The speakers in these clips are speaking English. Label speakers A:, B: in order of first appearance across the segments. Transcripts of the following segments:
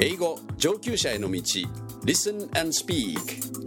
A: 英語上級者への道 Listen and Speak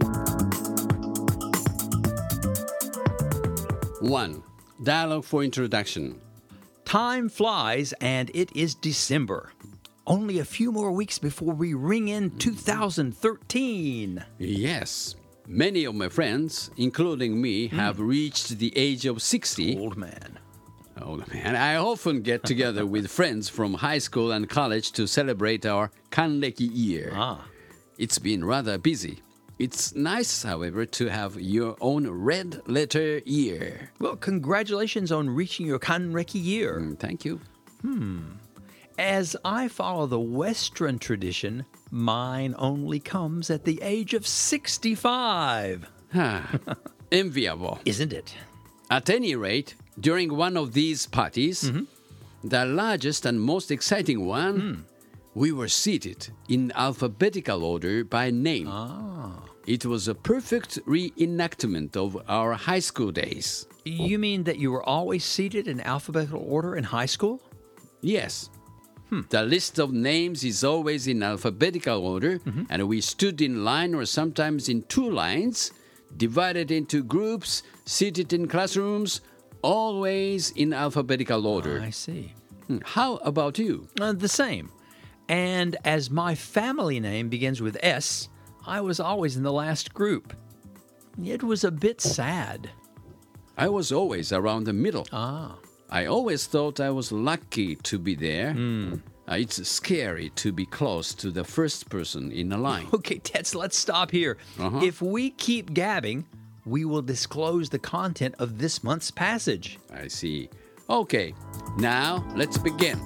A: 1. Dialogue for Introduction.
B: Time flies, and it is December. Only a few more weeks before we ring in 2013.
A: Yes, many of my friends, including me, have reached the age of 60.
B: Old man.
A: Old man. I often get together with friends from high school and college to celebrate our Kanreki year. It's been rather busy. It's nice, however, to have your own red letter year.
B: Well, congratulations on reaching your Kanreki year.
A: Thank you.
B: As I follow the Western tradition, mine only comes at the age of 65.
A: Enviable.
B: Isn't it?
A: At any rate, during one of these parties, the largest and most exciting one, we were seated in alphabetical order by name. It was a perfect reenactment of our high school days.
B: You mean that you were always seated in alphabetical order in high school?
A: Yes. The list of names is always in alphabetical order, and we stood in line or sometimes in two lines, divided into groups, seated in classrooms, always in alphabetical order.
B: I see.
A: How about you?
B: The same. And as my family name begins with S, I was always in the last group. It was a bit sad.
A: I was always around the middle. I always thought I was lucky to be there. It's scary to be close to the first person in a line.
B: Okay, Tets, let's stop here. If we keep gabbing, we will disclose the content of this month's passage.
A: I see. Okay, now let's begin.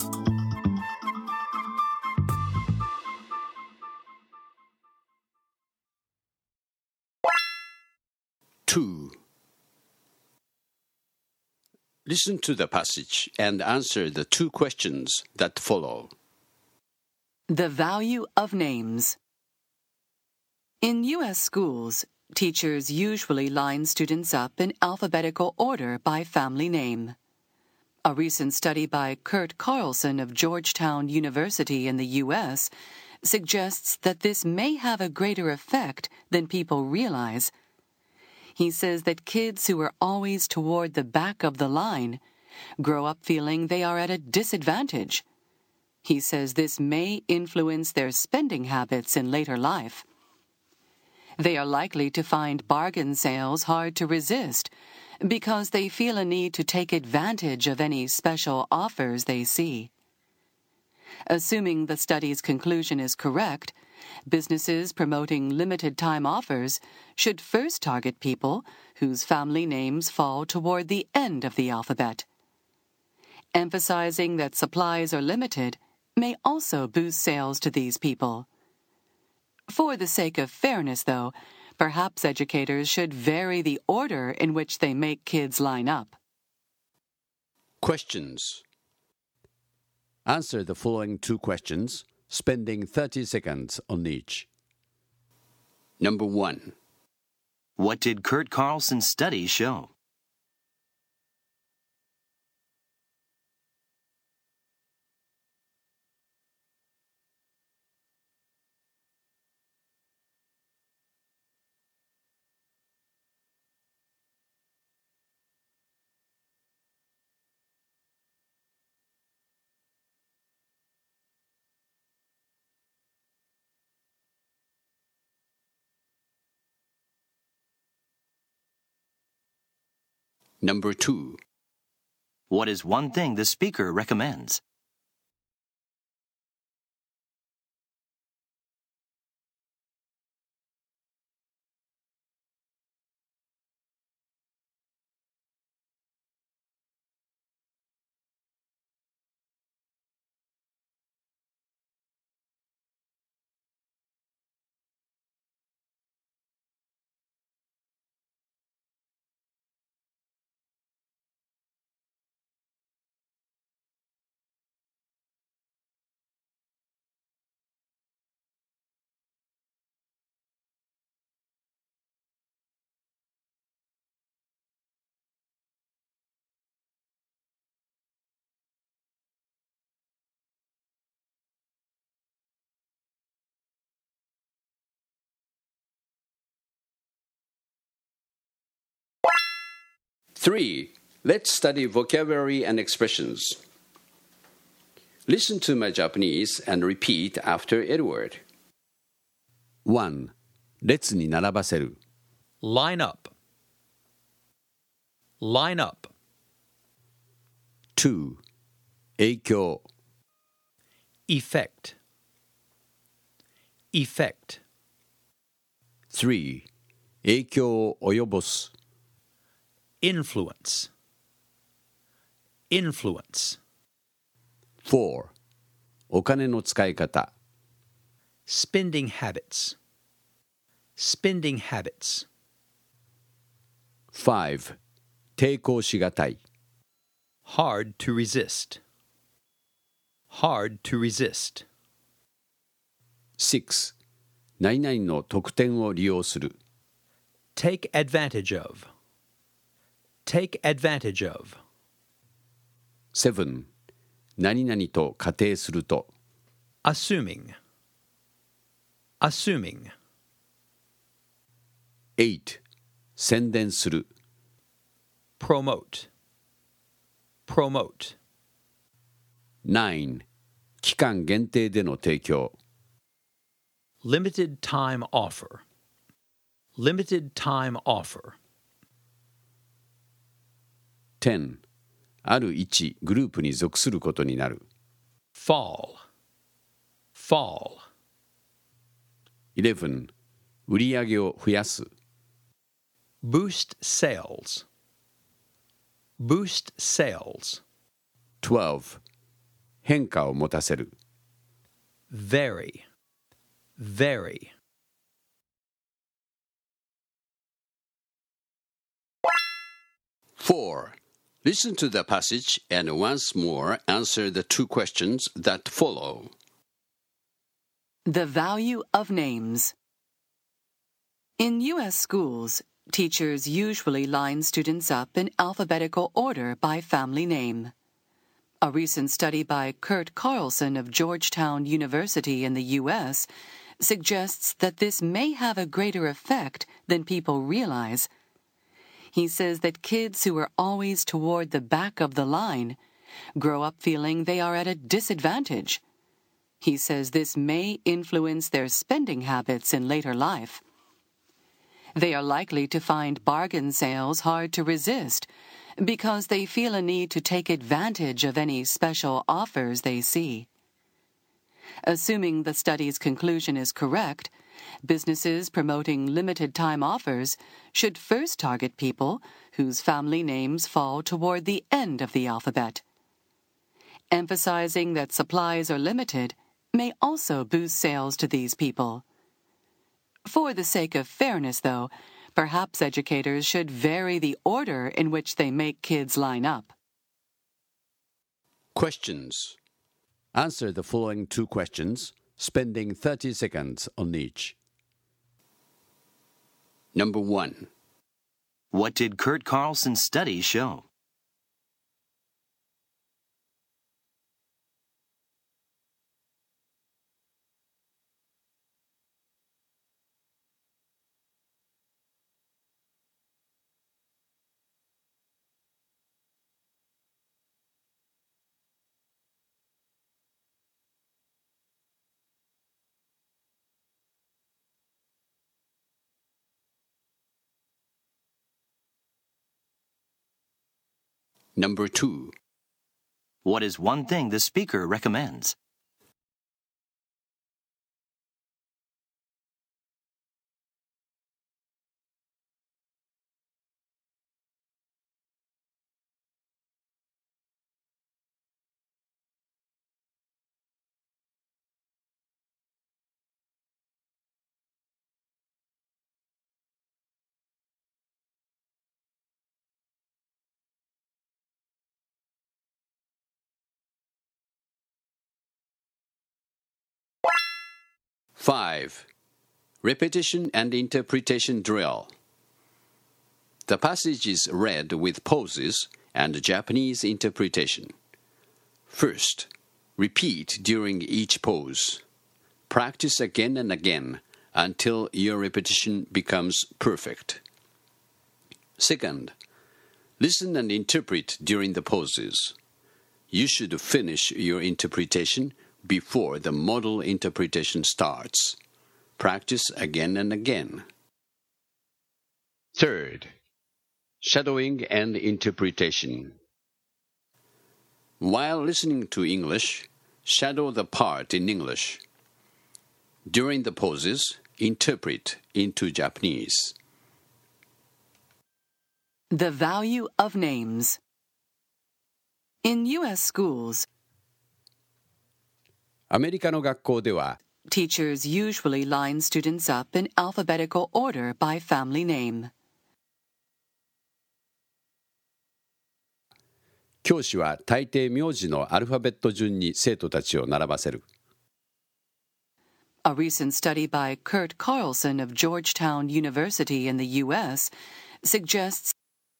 A: Two. Listen to the passage and answer the two questions that follow.
C: The value of names. In U.S. schools, teachers usually line students up in alphabetical order by family name. A recent study by Kurt Carlson of Georgetown University in the U.S. suggests that this may have a greater effect than people realize. He says that kids who are always toward the back of the line grow up feeling they are at a disadvantage. He says this may influence their spending habits in later life. They are likely to find bargain sales hard to resist because they feel a need to take advantage of any special offers they see. Assuming the study's conclusion is correct, businesses promoting limited-time offers should first target people whose family names fall toward the end of the alphabet. Emphasizing that supplies are limited may also boost sales to these people. For the sake of fairness, though, perhaps educators should vary the order in which they make kids line up.
A: Questions. Answer the following two questions, spending 30 seconds on each. Number 1.
D: What did Kurt Carlson's study show?
A: Number 2.
D: What is one thing the speaker recommends?
A: 3. Let's study vocabulary and expressions. Listen to my Japanese and repeat after Edward. 1. 列に並ばせる
B: Line up. Line up.
A: 2. 影響
B: Effect. Effect.
A: 3. 影響を及ぼす
B: Influence. Influence.
A: 4. お金の使い方
B: Spending habits. Spending habits.
A: 5. 抵抗しがたい
B: Hard to resist. Hard to resist.
A: 6. 何々の特典を利用する
B: Take advantage of. Take advantage of.
A: 7. 何々と仮定すると
B: Assuming. Assuming.
A: 8. 宣伝する
B: Promote. Promote.
A: 9. 期間限定での提供
B: Limited time offer. Limited time offer.
A: 10. ある一グループに属することになる
B: Fall. Fall.
A: 11. 売り上げを増やす
B: Boost sales. Boost sales.
A: 12. 変化を持たせる
B: Vary. Vary.
A: Four. Listen to the passage and once more answer the two questions that follow.
C: The value of names. In U.S. schools, teachers usually line students up in alphabetical order by family name. A recent study by Kurt Carlson of Georgetown University in the U.S. suggests that this may have a greater effect than people realize. He says that kids who are always toward the back of the line grow up feeling they are at a disadvantage. He says this may influence their spending habits in later life. They are likely to find bargain sales hard to resist because they feel a need to take advantage of any special offers they see. Assuming the study's conclusion is correct, businesses promoting limited-time offers should first target people whose family names fall toward the end of the alphabet. Emphasizing that supplies are limited may also boost sales to these people. For the sake of fairness, though, perhaps educators should vary the order in which they make kids line up.
A: Questions. Answer the following two questions, spending 30 seconds on each. Number 1.
D: What did Kurt Carlson's study show?
A: Number 2.
D: What is one thing the speaker recommends?
A: Five. Repetition and interpretation drill. The passage is read with pauses and Japanese interpretation. First, repeat during each pause. Practice again and again until your repetition becomes perfect. Second, Listen and interpret during the pauses. You should finish your interpretation before the model interpretation starts. Practice again and again. Third, shadowing and interpretation. While listening to English, shadow the part in English. During the pauses, interpret into Japanese.
C: The value of names. In U.S. schools,
A: アメリカの学校では、
C: teachers usually line students up in alphabetical order by family name.
A: 教師は大抵名字のアルファベット順に生徒たちを並ばせる。
C: A recent study by Kurt Carlson of Georgetown University in the U.S. suggests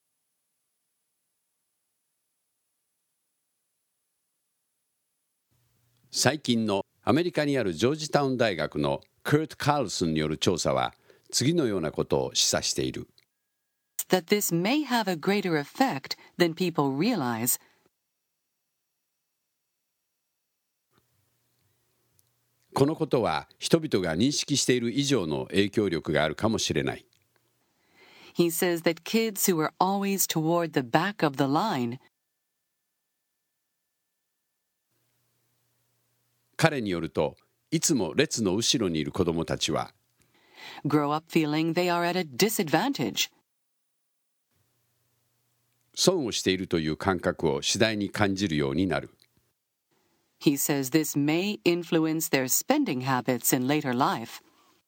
A: 最近のアメリカにあるジョージタウン大学のクート・カールソンによる調査は次のようなことを示唆している。
C: that this may have a greater effect than people realize.
A: このことは人々が認識している以上の影響力があるかもしれない。
C: He says that kids who are always toward the back of the line,
A: 彼によると、いつも列の後ろにいる子どもたちは、
C: grow up feeling they are at a disadvantage.
A: 損をしているという感覚を次第に感じるようになる。
C: He says this may influence their spending habits in later life.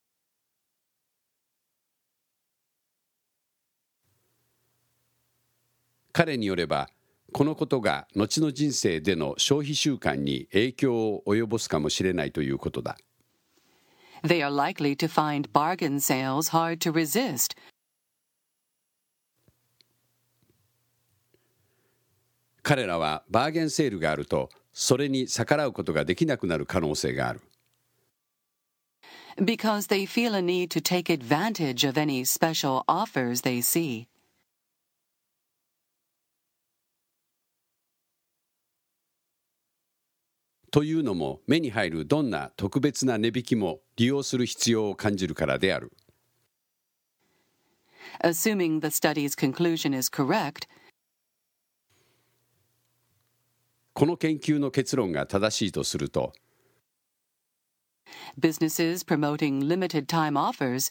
A: 彼によれば、このことが後の人生での消費習慣に影響を及ぼすかもしれないということだ。
C: They are likely to find bargain sales hard to resist.
A: 彼らはバーゲンセールがあると、それに逆らうことができなくなる可能性がある。
C: Because they feel a need to take advantage of any special offers they see.
A: というのも、目に入るどんな特別な値引きも利用する必要を感じるからである。
C: Assuming the study's conclusion is correct,
A: この研究の結論が正しいとすると、
C: businesses promoting limited time offers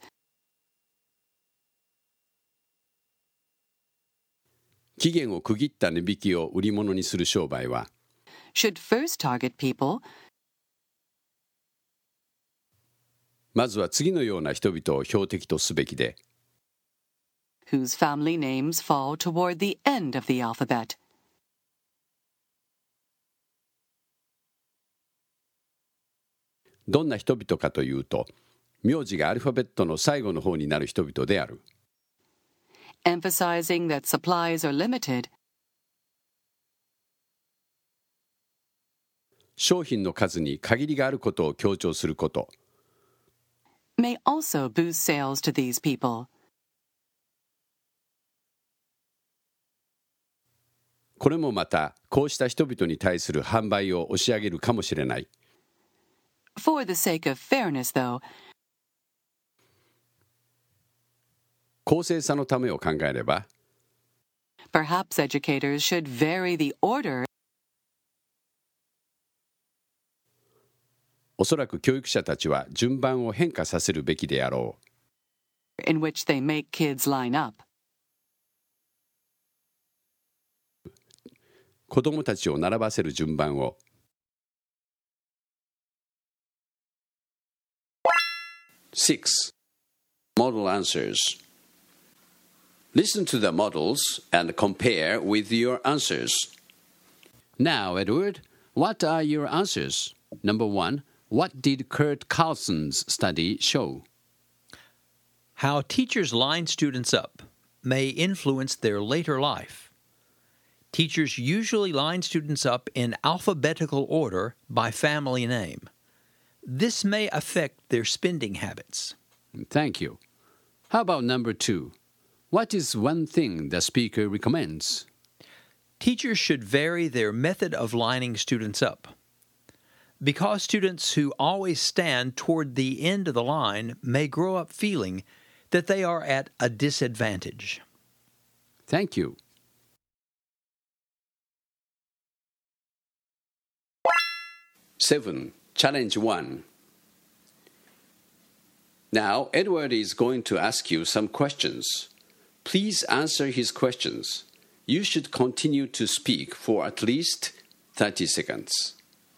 A: 期限を区切った値引きを売り物にする商売は、
C: should first target people
A: まずは次のような人々を標的とすべきで、
C: whose family names fall toward the end of the alphabet.
A: どんな人々かというと、名字がアルファベットの最後の方になる人々である。
C: Emphasizing that supplies are limited,
A: 商品の数に限りがあることを強調すること。
C: may also boost sales to these people.
A: これもまた、こうした人々に対する販売を押し上げるかもしれない。
C: For the sake of fairness, though,
A: 公正さのためを考えれば、
C: perhaps educators should vary the order
A: おそらく教育者たちは順番を変化させるべきであろう。
C: in which they make kids line up.
A: 子供たちを並ばせる順番を。6. Model answers. Listen to the models and compare with your answers. Now, Edward, what are your answers? Number 1, what did Kurt Carlson's study show?
B: How teachers line students up may influence their later life. Teachers usually line students up in alphabetical order by family name. This may affect their spending habits.
A: Thank you. How about number 2? What is one thing the speaker recommends?
B: Teachers should vary their method of lining students up. Because students who always stand toward the end of the line may grow up feeling that they are at a disadvantage.
A: Thank you. Seven, challenge 1. Now, Edward is going to ask you some questions. Please answer his questions. You should continue to speak for at least 30 seconds.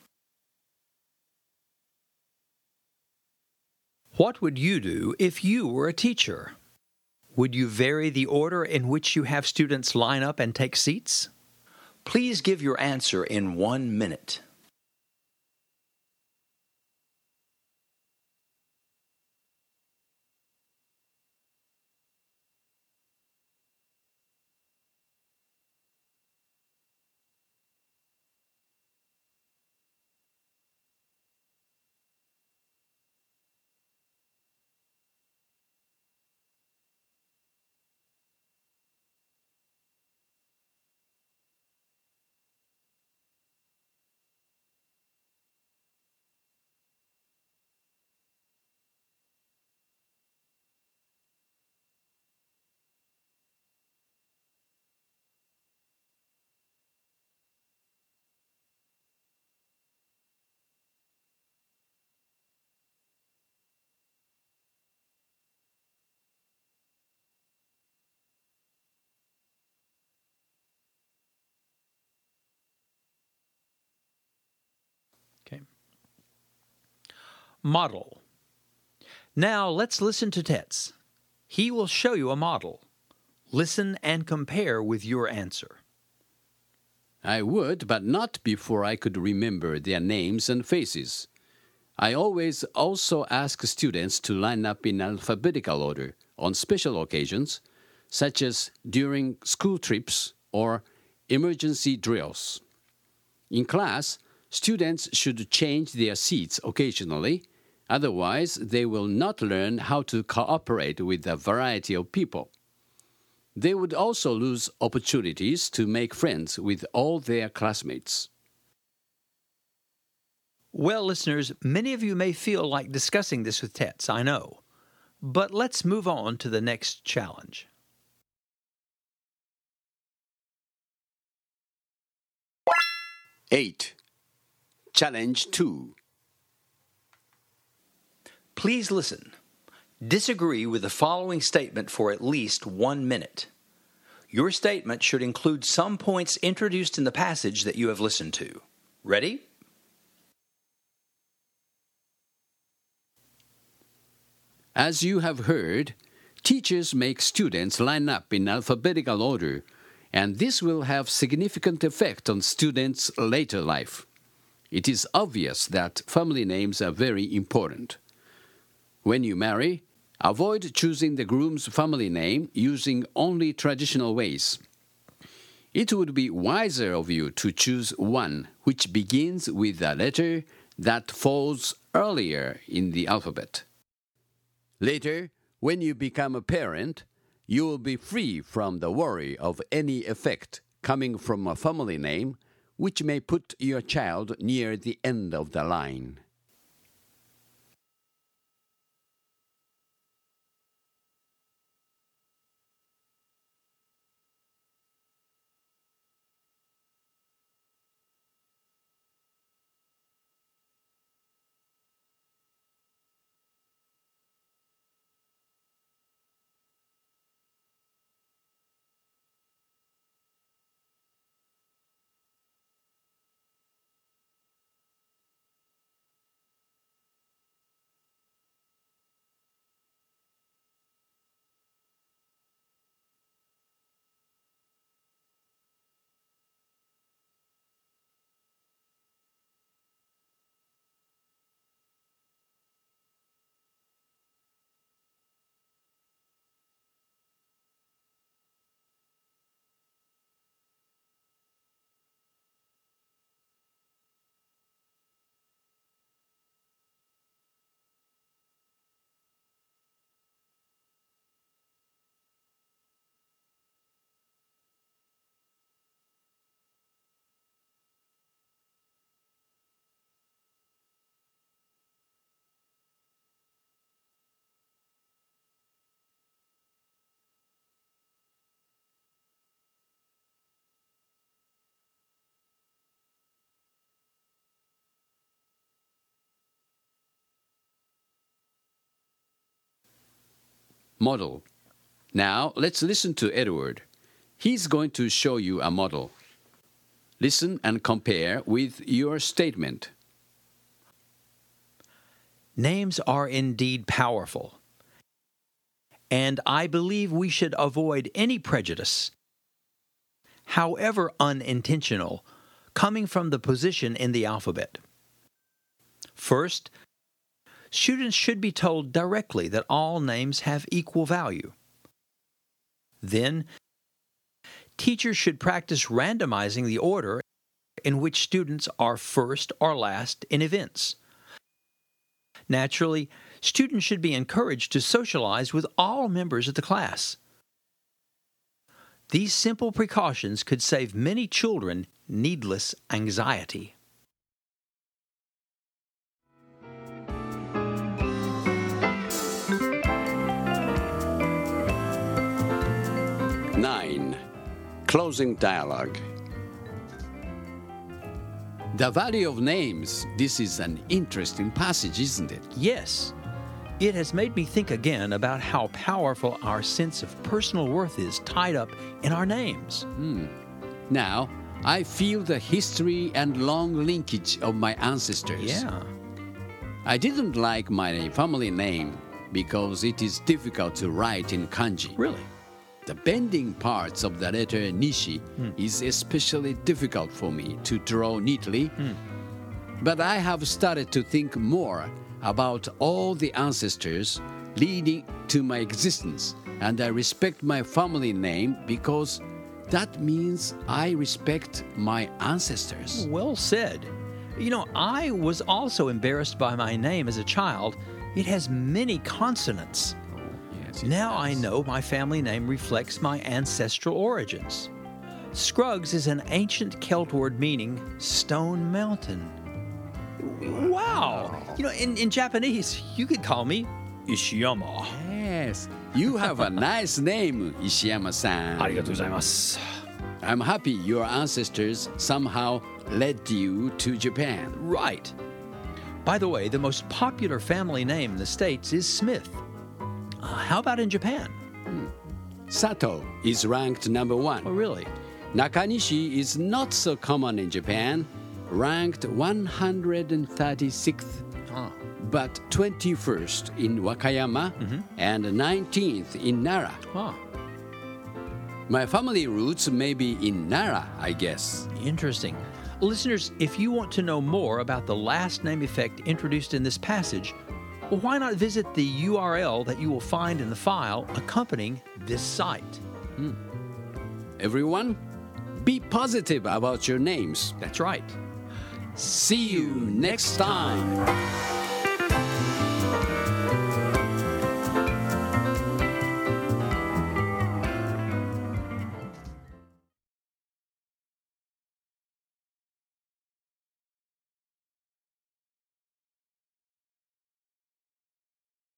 B: What would you do if you were a teacher? Would you vary the order in which you have students line up and take seats?
E: Please give your answer in 1 minute.
B: Okay. Model. Now let's listen to Tetz. He will show you a model. Listen and compare with your answer.
A: I would, but not before I could remember their names and faces. I always also ask students to line up in alphabetical order on special occasions, such as during school trips or emergency drills. In class, students should change their seats occasionally, otherwise they will not learn how to cooperate with a variety of people. They would also lose opportunities to make friends with all their classmates.
B: Well, listeners, many of you may feel like discussing this with Tetz, I know. But let's move on to the next challenge.
A: Eight, challenge 2.
E: Please listen. Disagree with the following statement for at least 1 minute. Your statement should include some points introduced in the passage that you have listened to. Ready?
A: As you have heard, teachers make students line up in alphabetical order, and this will have significant effect on students' later life. It is obvious that family names are very important. When you marry, avoid choosing the groom's family name using only traditional ways. It would be wiser of you to choose one which begins with a letter that falls earlier in the alphabet. Later, when you become a parent, you will be free from the worry of any effect coming from a family name which may put your child near the end of the line. model. Now, let's listen to Edward. He's going to show you a model. Listen and compare with your statement.
B: Names are indeed powerful, and I believe we should avoid any prejudice, however unintentional, coming from the position in the alphabet. First, students should be told directly that all names have equal value. Then, teachers should practice randomizing the order in which students are first or last in events. Naturally, students should be encouraged to socialize with all members of the class. These simple precautions could save many children needless anxiety.
A: Nine. Closing dialogue. The value of names. This is an interesting passage, isn't it?
B: Yes, it has made me think again about how powerful our sense of personal worth is tied up in our names.
A: Now, I feel the history and long linkage of my ancestors.
B: Yeah.
A: I didn't like my family name because it is difficult to write in kanji.
B: Really?
A: The bending parts of the letter Nishi is especially difficult for me to draw neatly. But I have started to think more about all the ancestors leading to my existence, and I respect my family name because that means I respect my ancestors.
B: Well said. You know, I was also embarrassed by my name as a child. It has many consonants. Now I know my family name reflects my ancestral origins. Scruggs is an ancient Celt word meaning stone mountain. Wow! You know, in Japanese, you could call me Ishiyama.
A: Yes, you have a nice name, Ishiyama-san.
B: ありがとうございます.
A: I'm happy your ancestors somehow led you to Japan.
B: Right. By the way, the most popular family name in the States is Smith. How about in Japan?
A: Sato is ranked number 1.
B: Oh, really?
A: Nakanishi is not so common in Japan, ranked 136th, but 21st in Wakayama and 19th in Nara. My family roots may be in Nara, I guess.
B: Interesting. Listeners, if you want to know more about the last name effect introduced in this passage, well, why not visit the URL that you will find in the file accompanying this site?
A: Everyone, be positive about your names.
B: That's right.
A: See you next time.